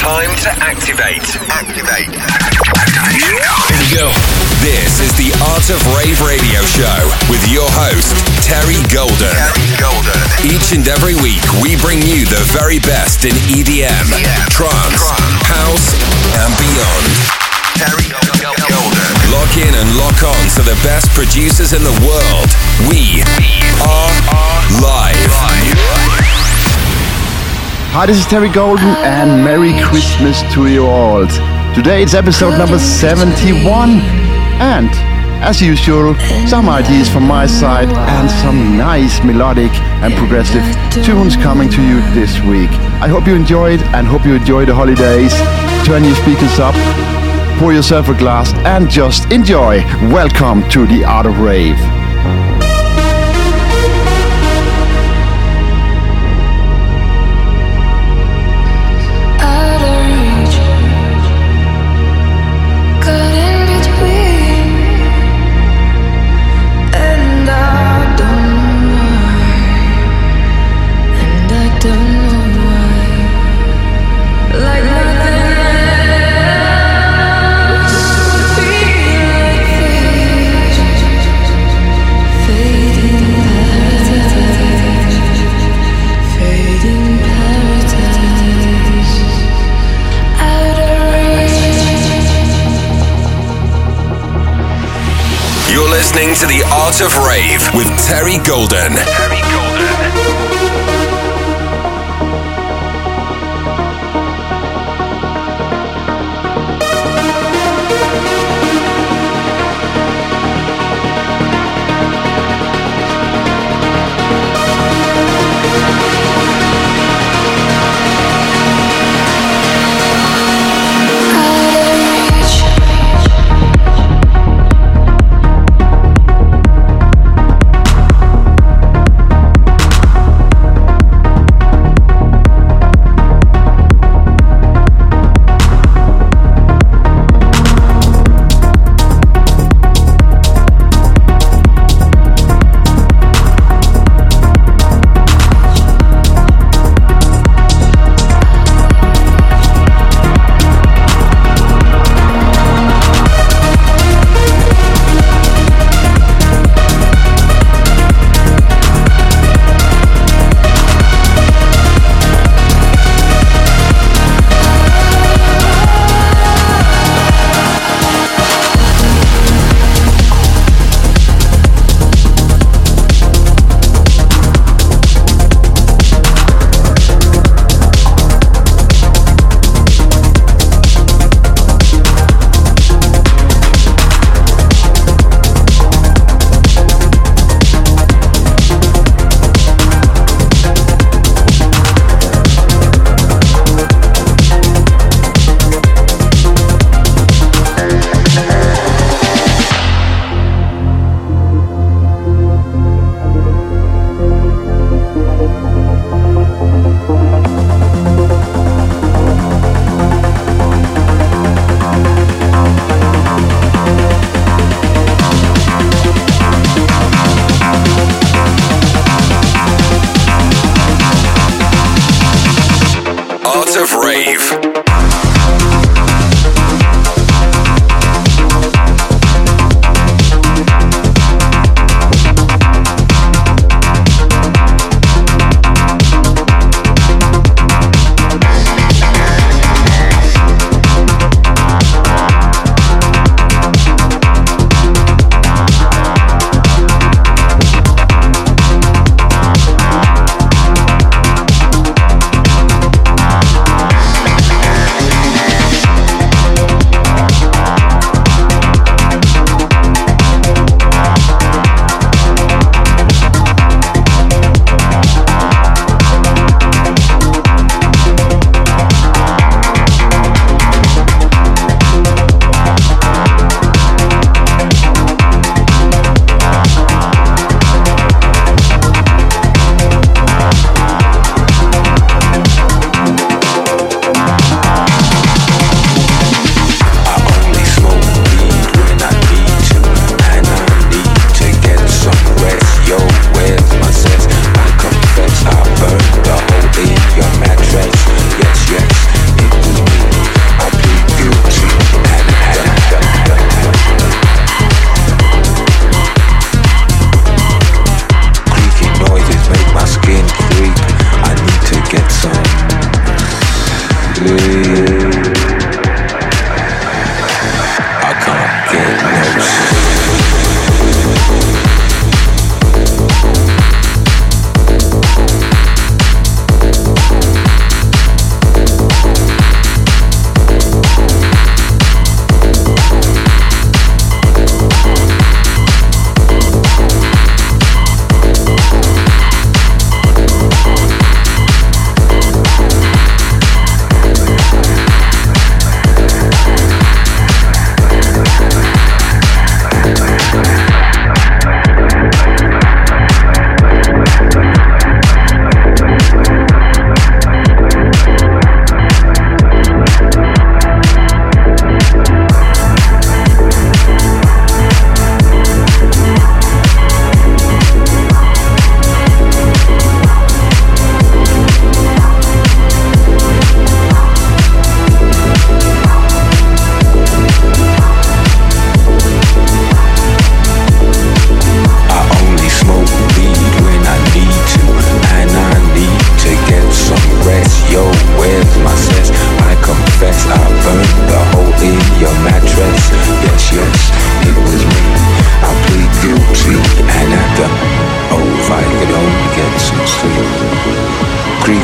Time to activate. Activation. Here we go. This is the Art of Rave Radio Show with your host, Terry Golden. Each and every week, we bring you the very best in EDM, trance, house, and beyond. Terry Golden. Lock in and lock on to the best producers in the world. We are live. Hi, this is Terry Golden and Merry Christmas to you all. Today it's episode number 71 and, as usual, some ideas from my side and some nice melodic and progressive tunes coming to you this week. I hope you enjoyed and hope you enjoy the holidays. Turn your speakers up, pour yourself a glass and just enjoy. Welcome to the Art of Rave. Listening to the Art of Rave with Terry Golden.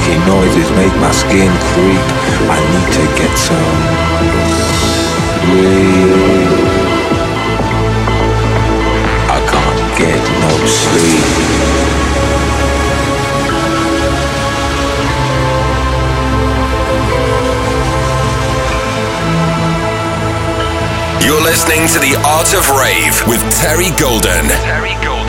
funky noises make my skin creep. I need to get some sleep. I can't get no sleep. You're listening to The Art of Rave with Terry Golden. Terry Golden.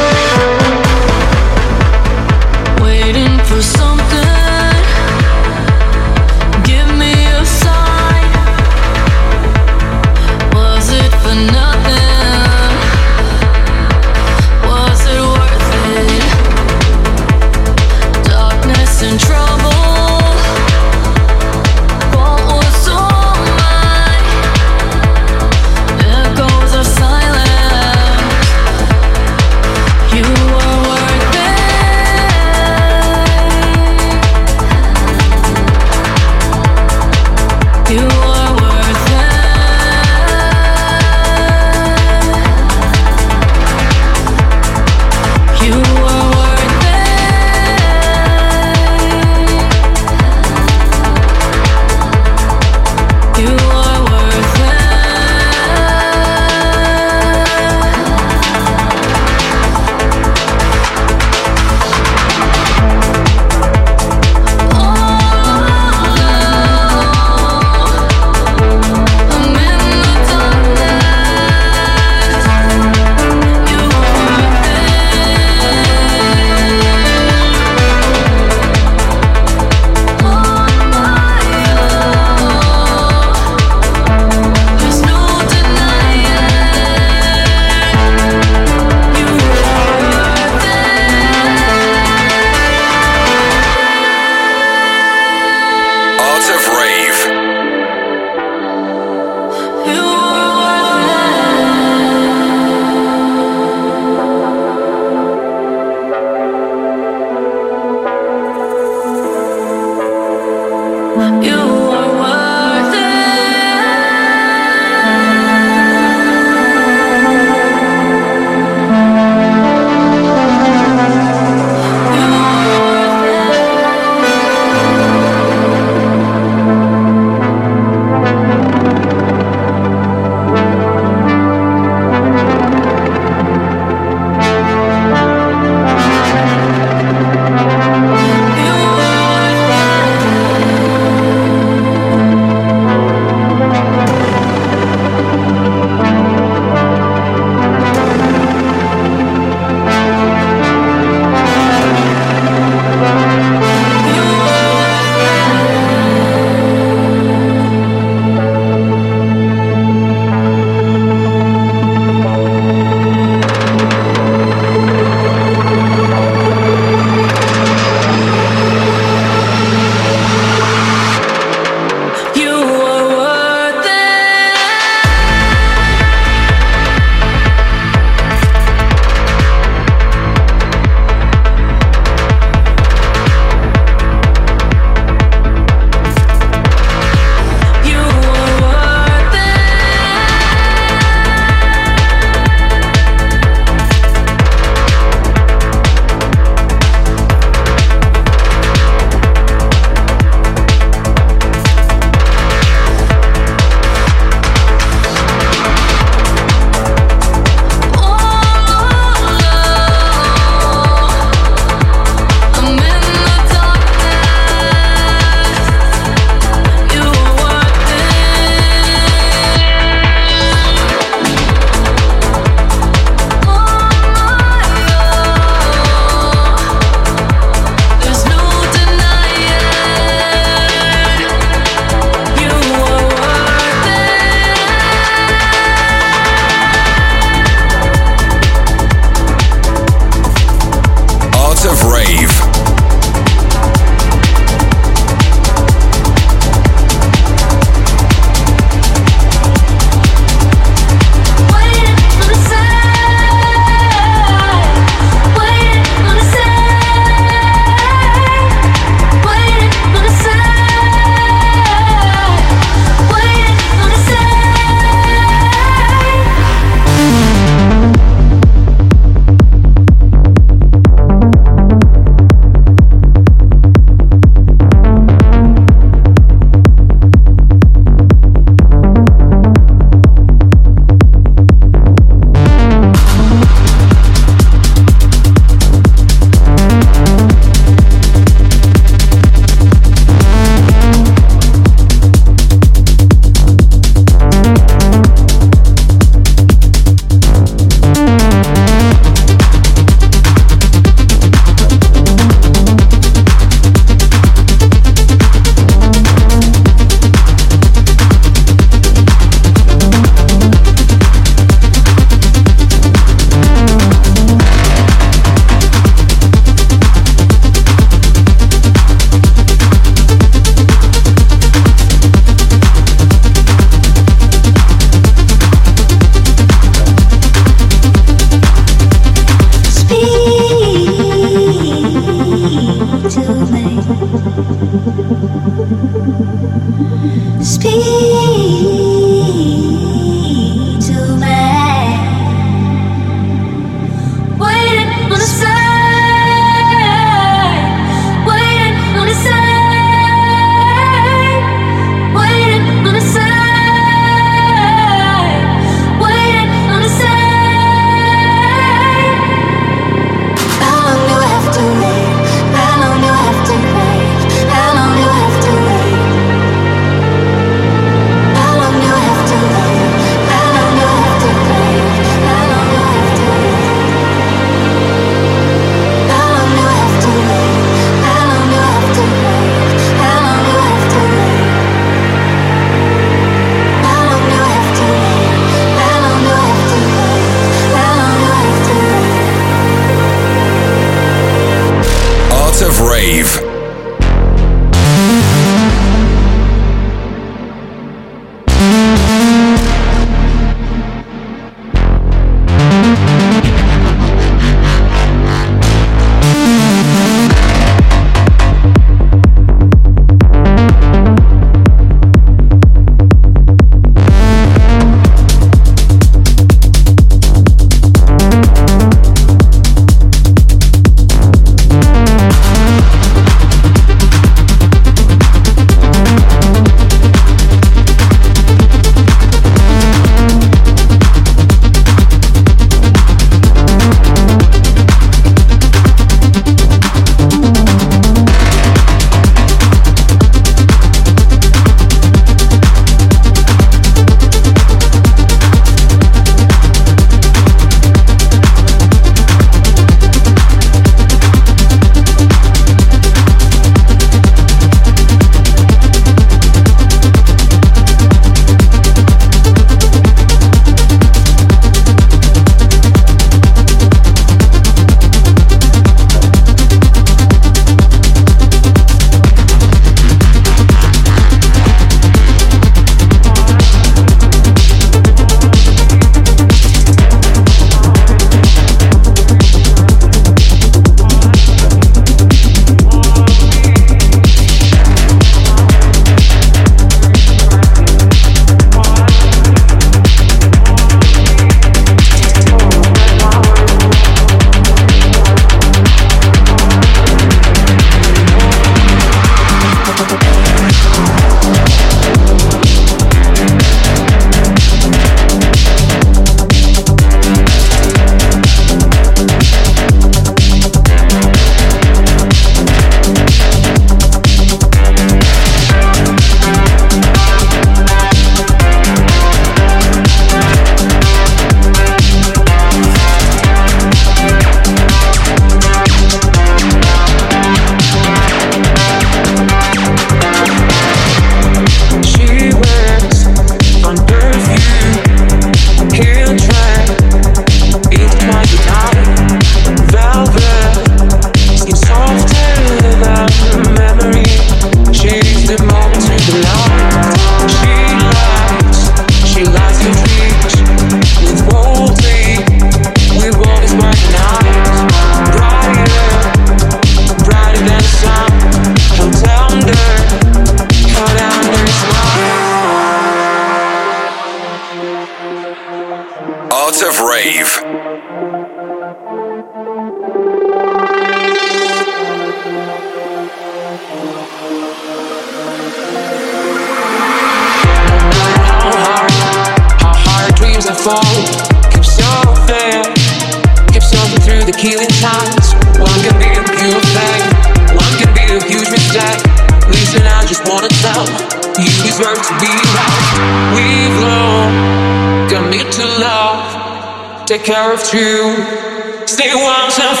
Take care of you. Stay once and for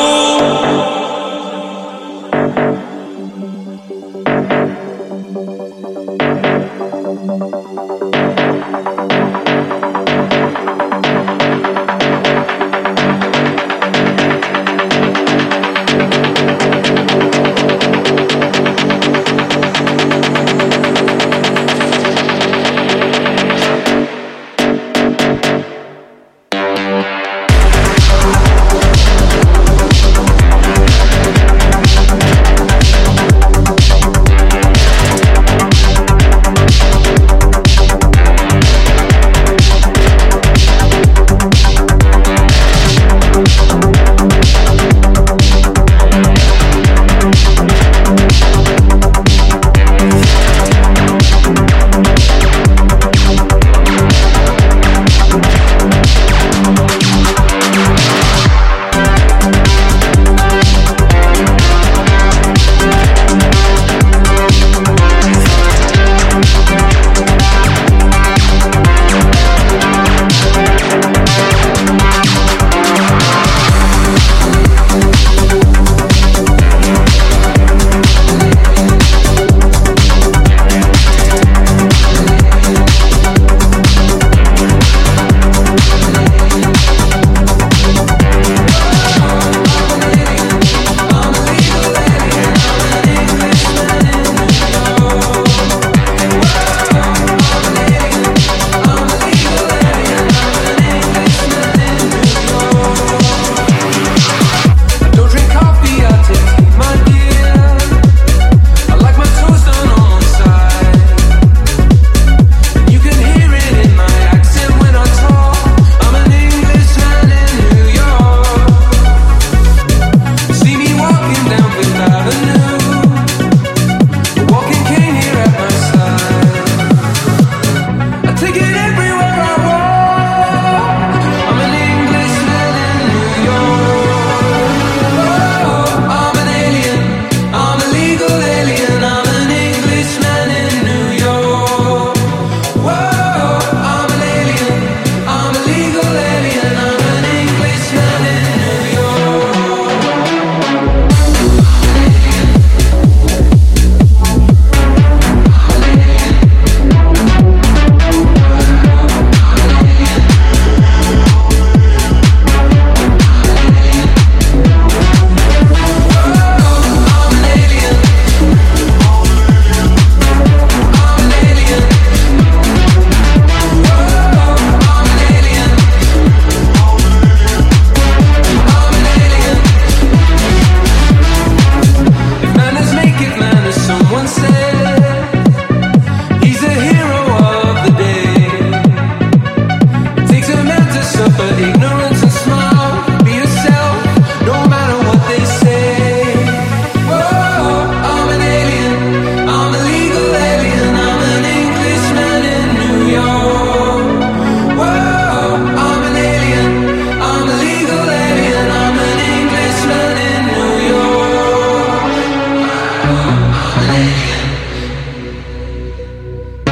all.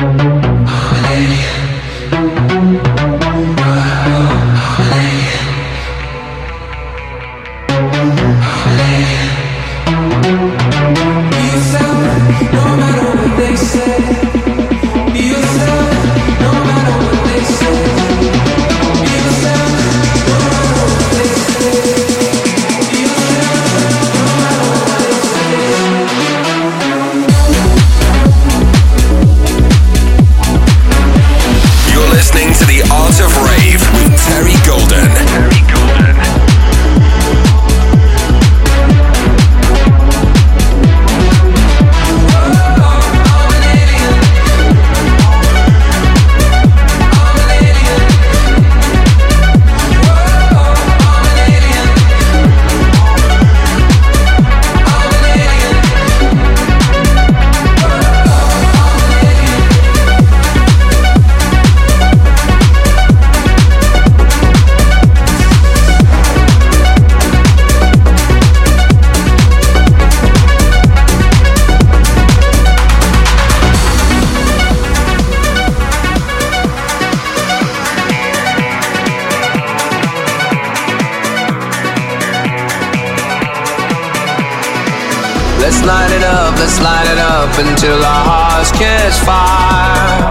Let's light it up until our hearts catch fire.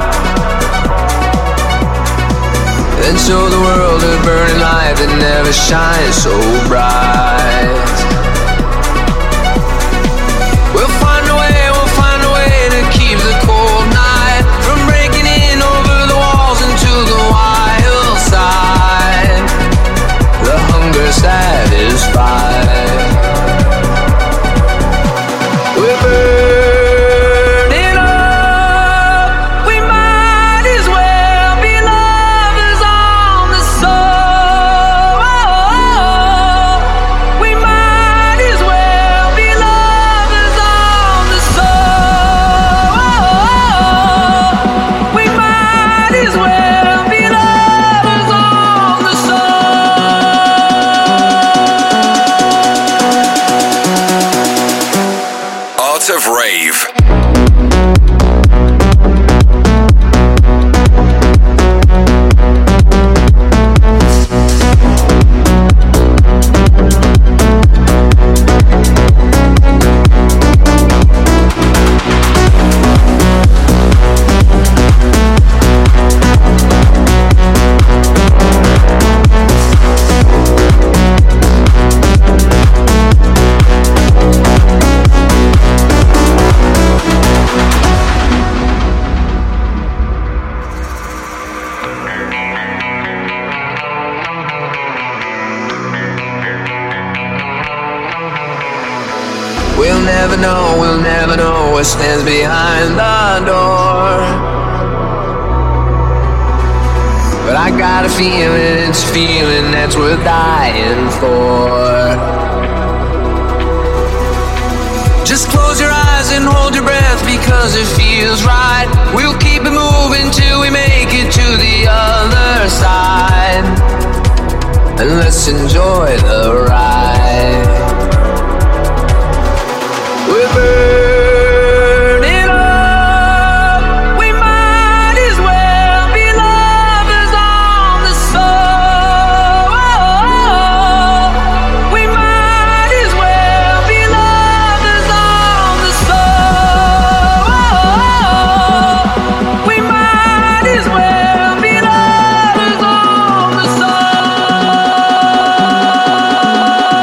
Then show the world a burning light that never shines so bright. We'll find a way to keep the cold night from breaking in over the walls into the wild side. The hunger satisfied. We're burning up. We might as well be lovers on the soul. We might as well be lovers on the soul. We might as well be lovers on the soul. Art of Rave. We'll never know what stands behind the door. But I got a feeling, it's a feeling that's worth dying for. Just close your eyes and hold your breath because it feels right. We'll keep it moving till we make it to the other side. And let's enjoy the ride. We're burning up. We might as well be lovers on the soul. We might as well be lovers on the soul. We might as well be lovers on the soul.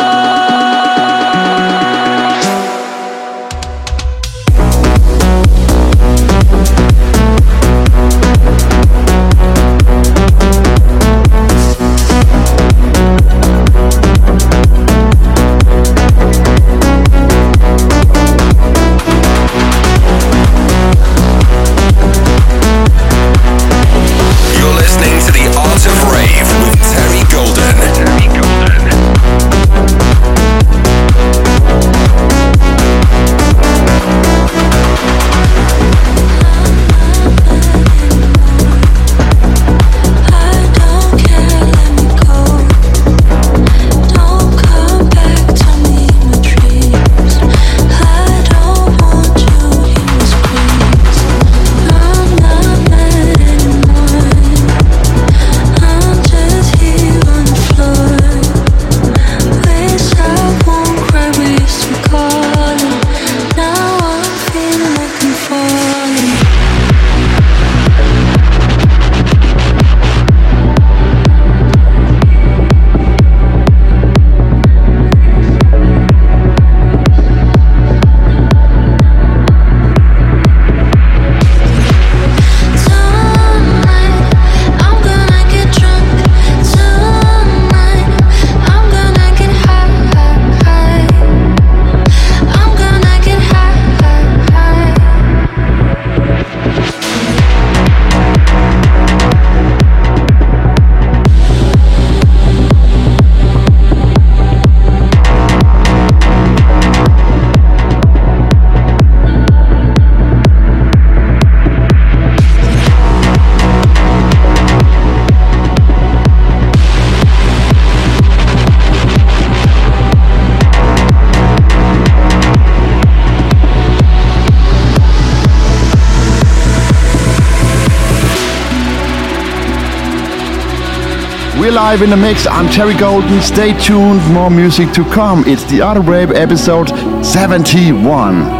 We're live in the mix. I'm Terry Golden. Stay tuned. More music to come. It's the Art of Rave episode 71.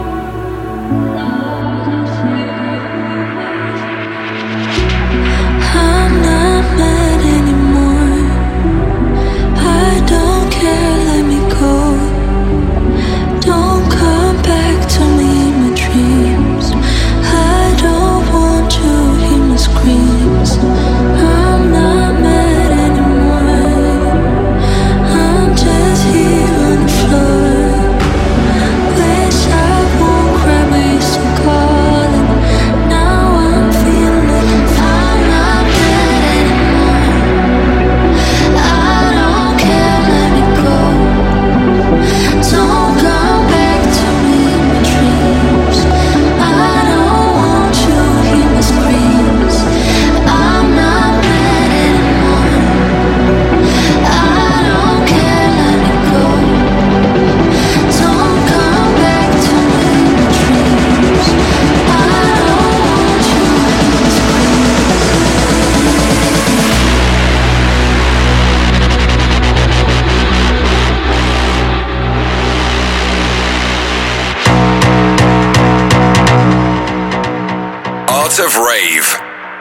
Of Rave.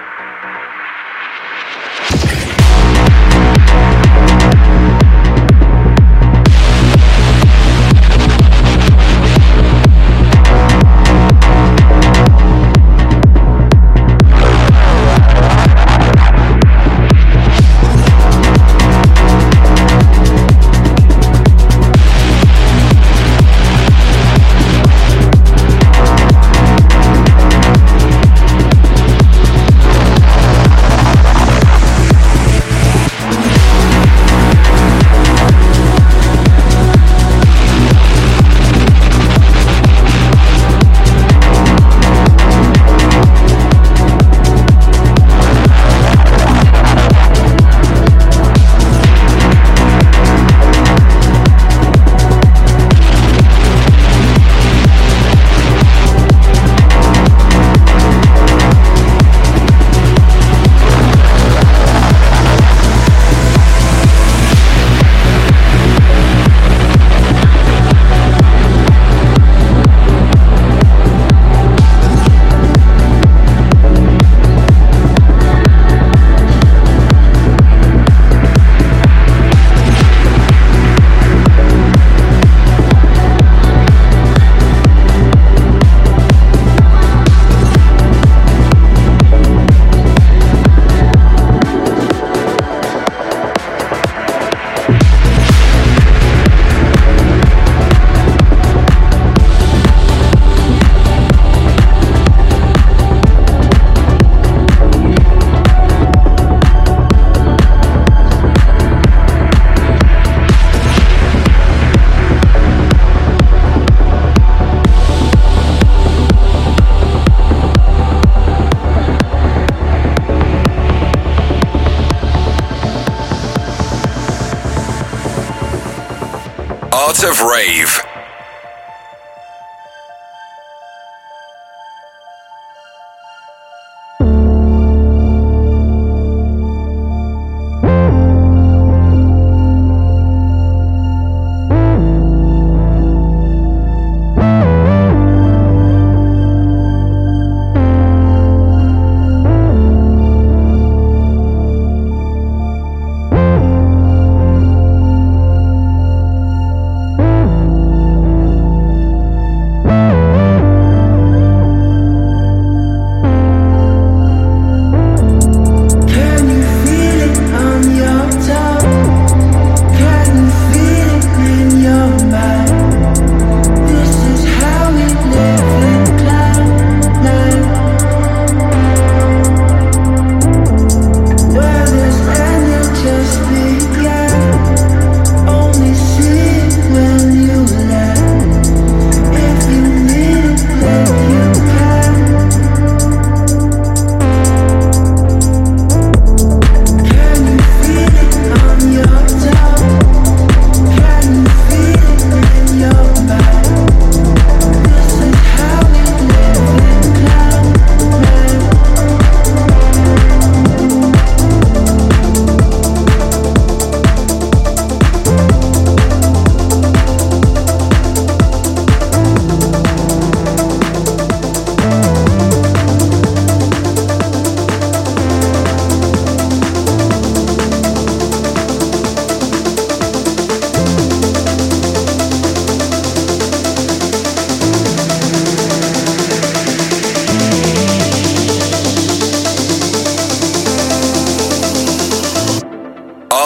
Art of Rave.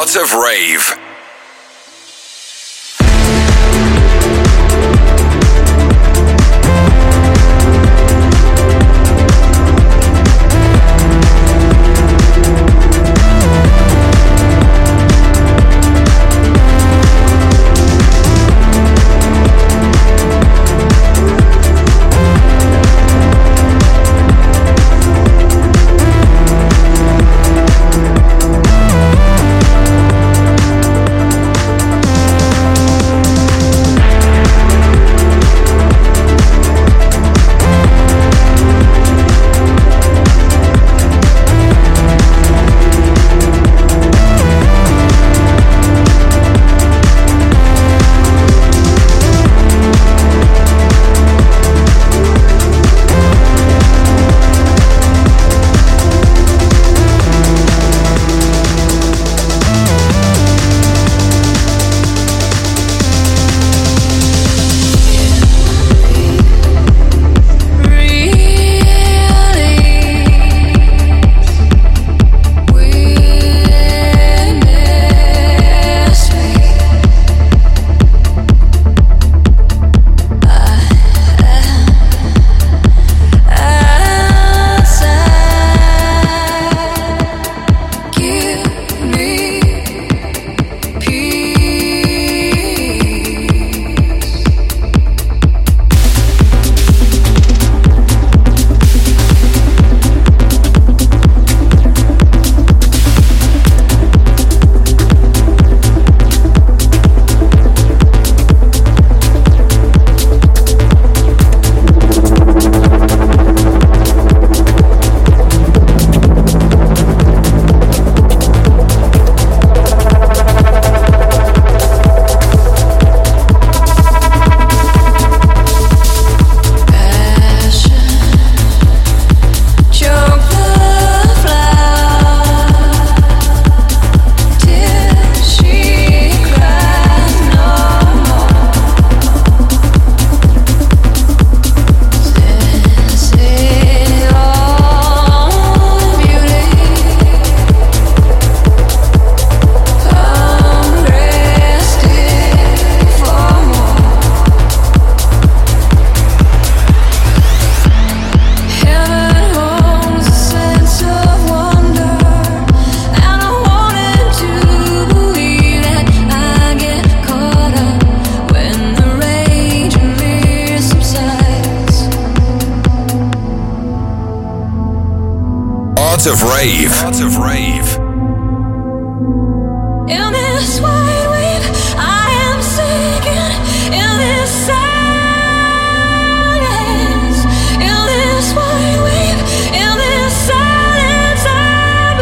Art of Rave. Art of Rave. Art of Rave. In this wide wave, I am sinking. In this silence, in this wide wave, in this silence, I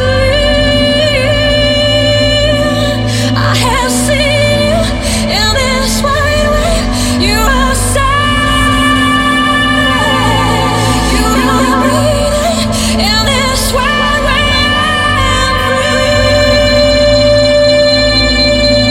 believe I have seen you. In this wide wave, you are silent. You are breathing. In this wide wave, I'm free.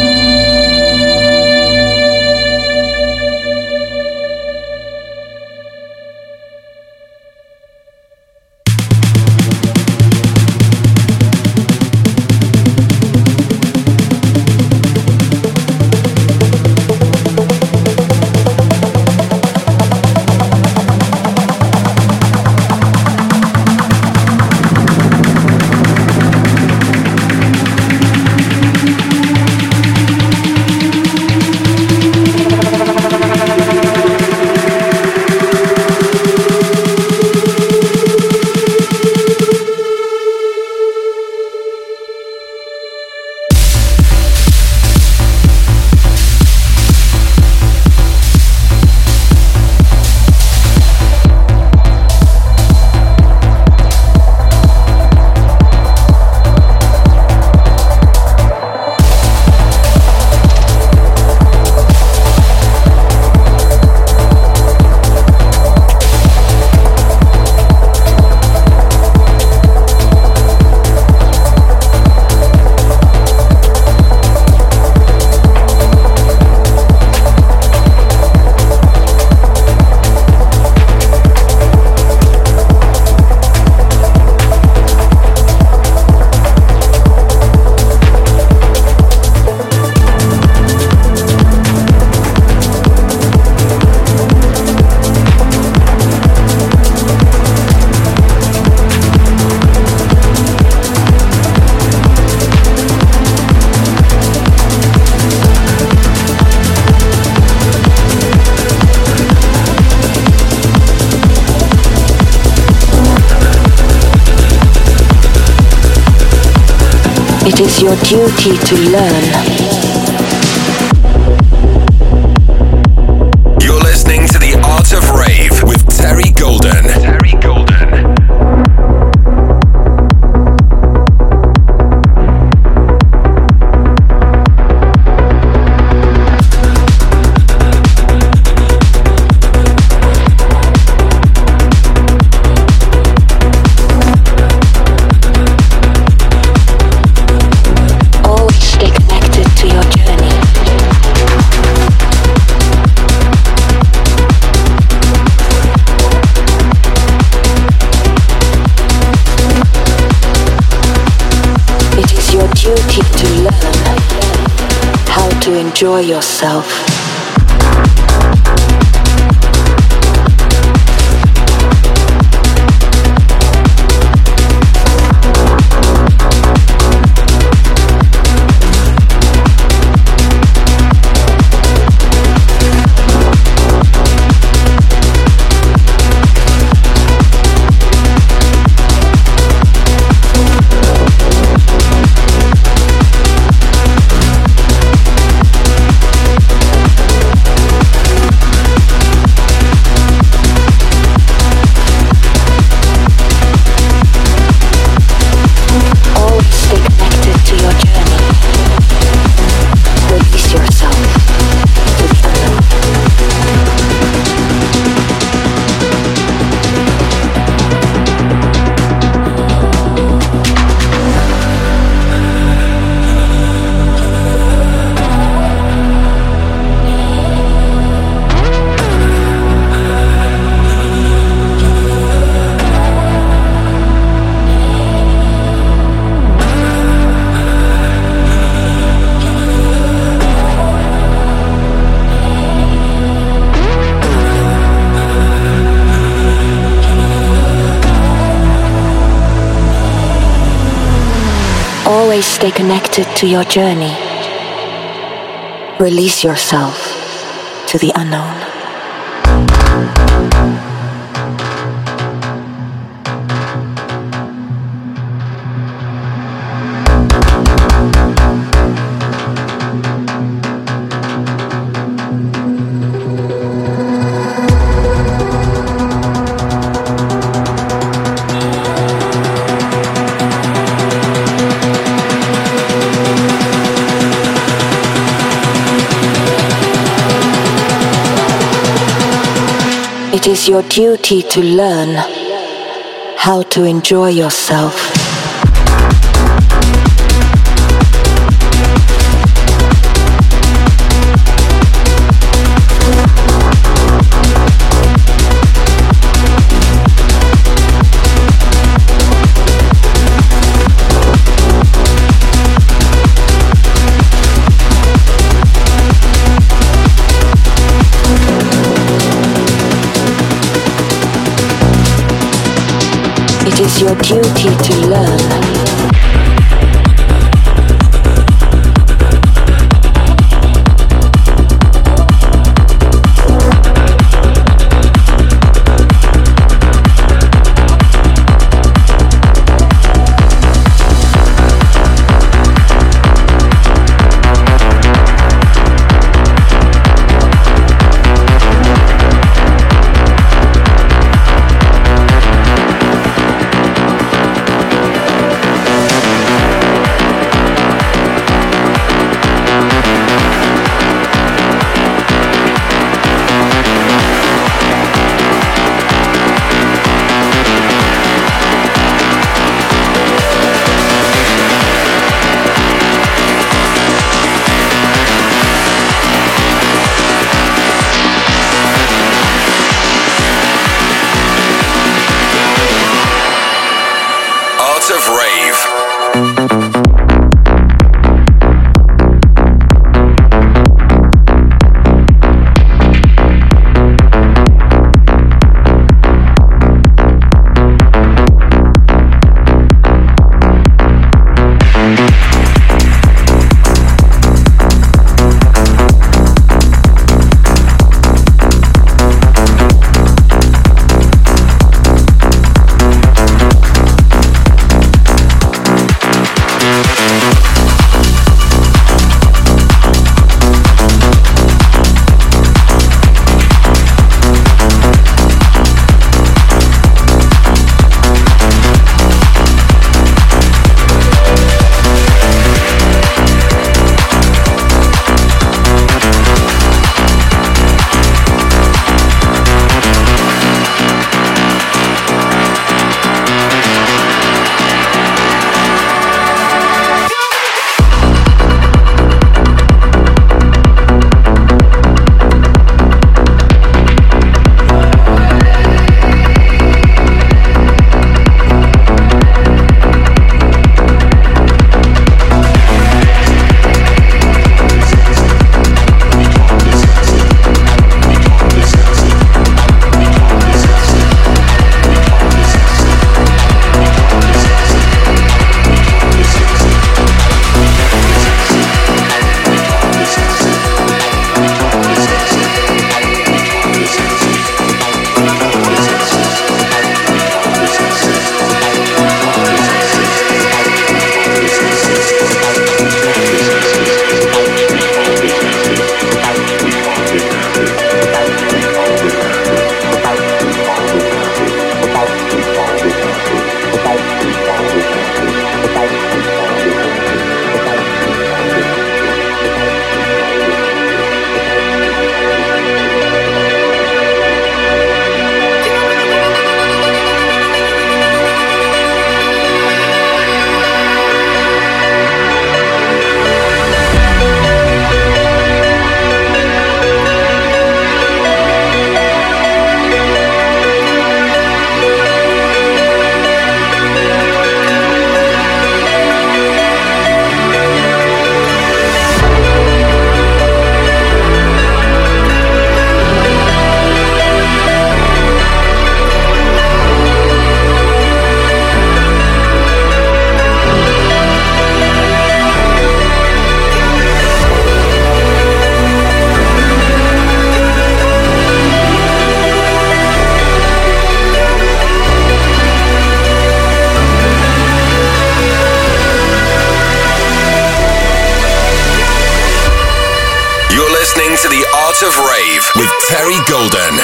It is your duty to learn. You're listening to The Art of Rave with Terry Golden. Terry Golden. Enjoy yourself. Always stay connected to your journey. Release yourself to the unknown. It is your duty to learn how to enjoy yourself. It is your duty to learn. Art of Rave with Terry Golden.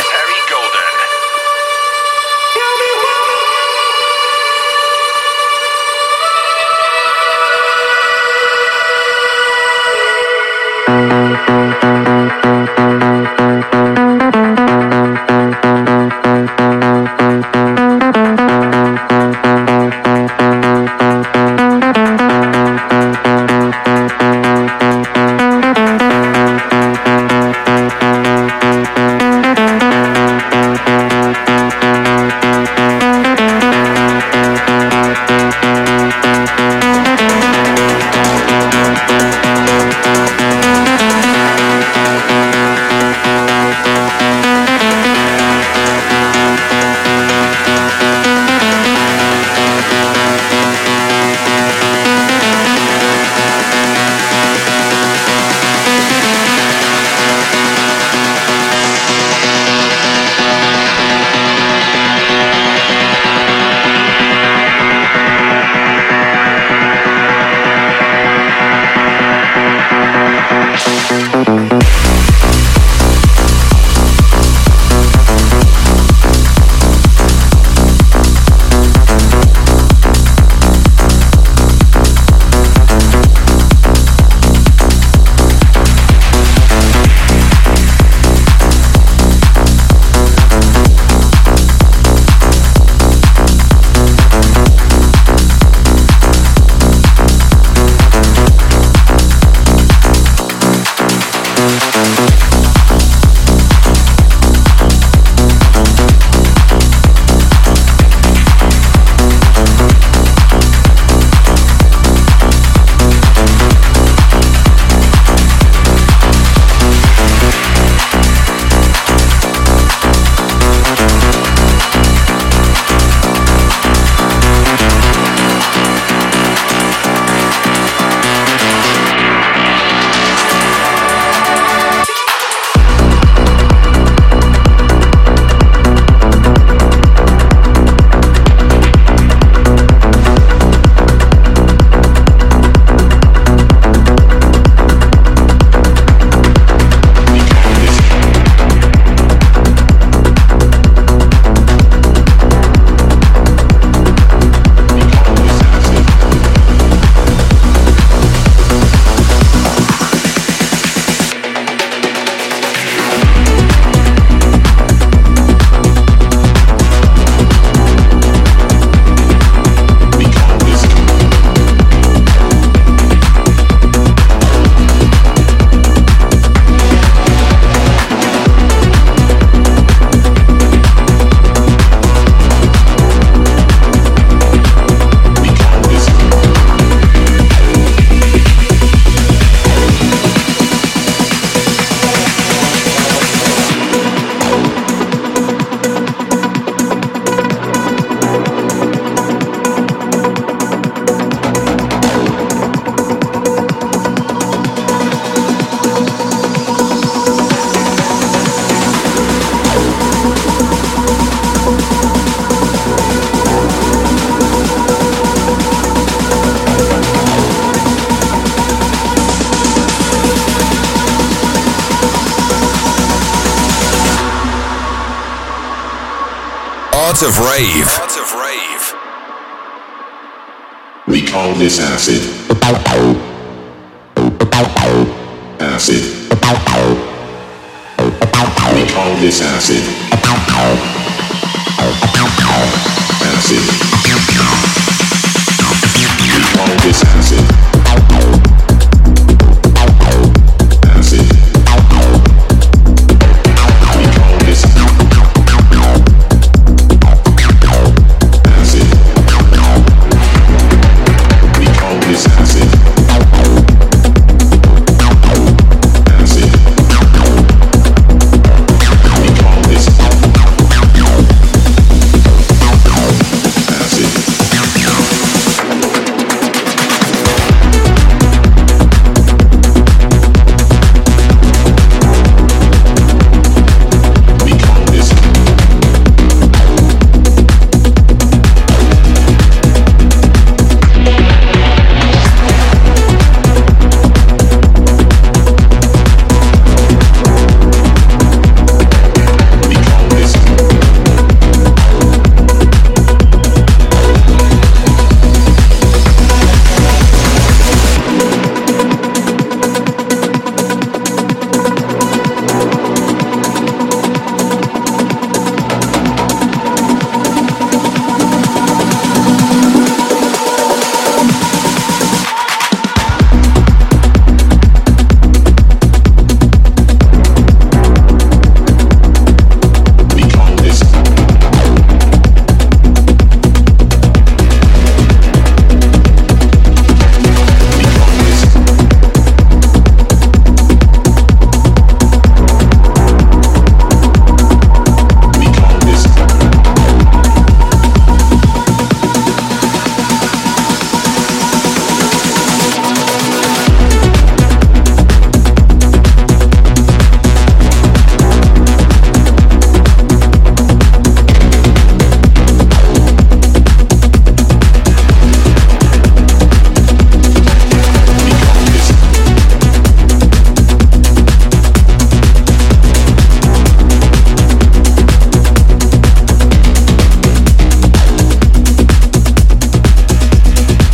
Art of Rave. We call this acid. Acid. We call this acid. Acid. We call this acid. Acid.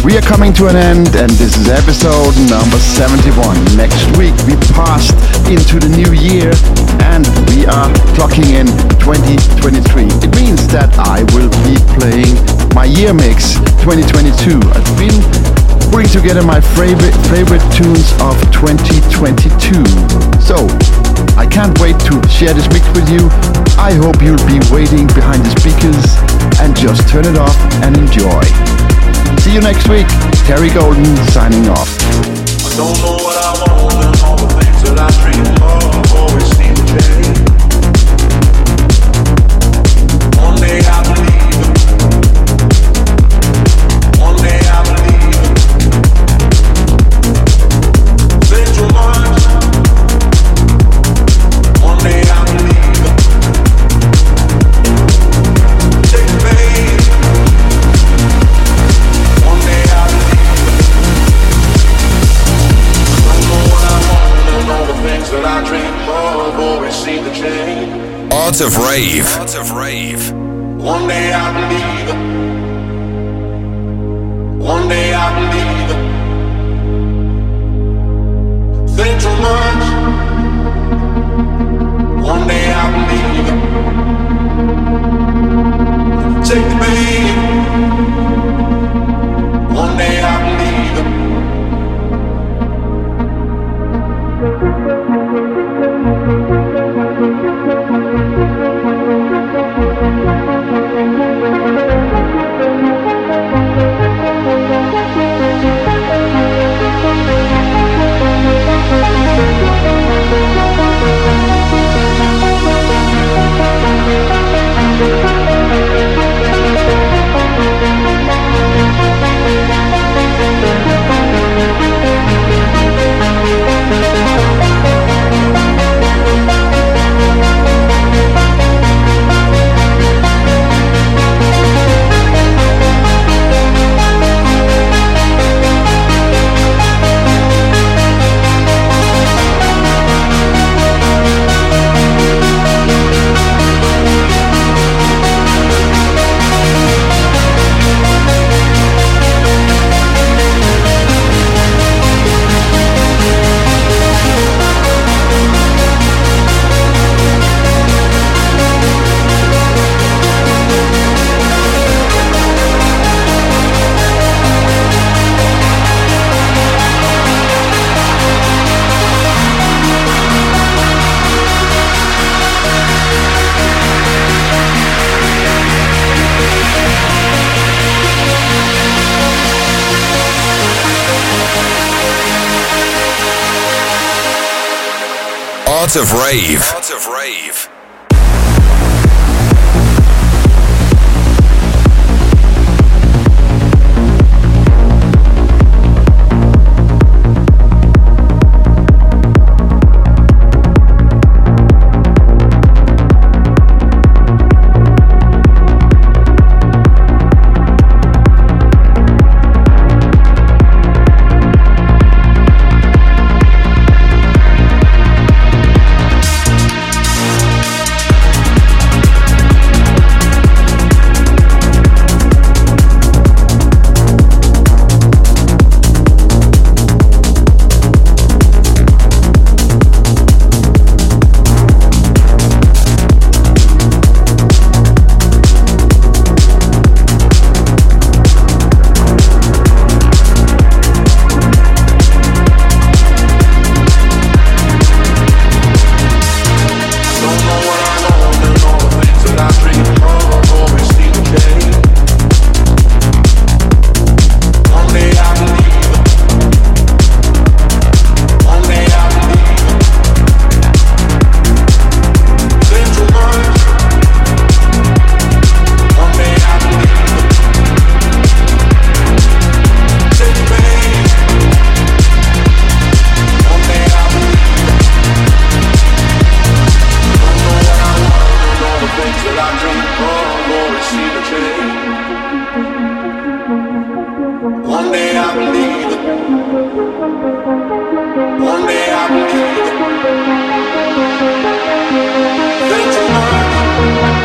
We are coming to an end, and this is episode number 71. Next week we passed into the new year and we are clocking in 2023. It means that I will be playing my year mix 2022. I've been putting together my favorite tunes of 2022. So I can't wait to share this mix with you. I hope you'll be waiting behind the speakers and just turn it off and enjoy. See you next week. Terry Golden signing off. I don't know what I want and all the things that I dream of always seem to change. One day I believe it. One day I believe it. Think too much. One day I believe it. Take the pain. That I dream of always seem to change. Art of Rave. One day I believe it. One day I believe it. Think too much. One day I believe it. Take the pain. One day I believe it. Art of Rave.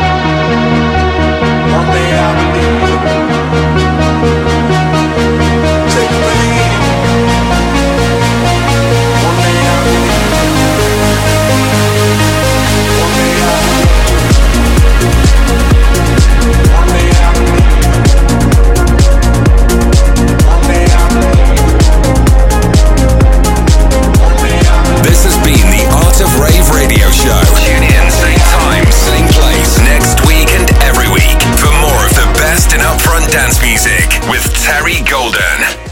One day I believe. Golden.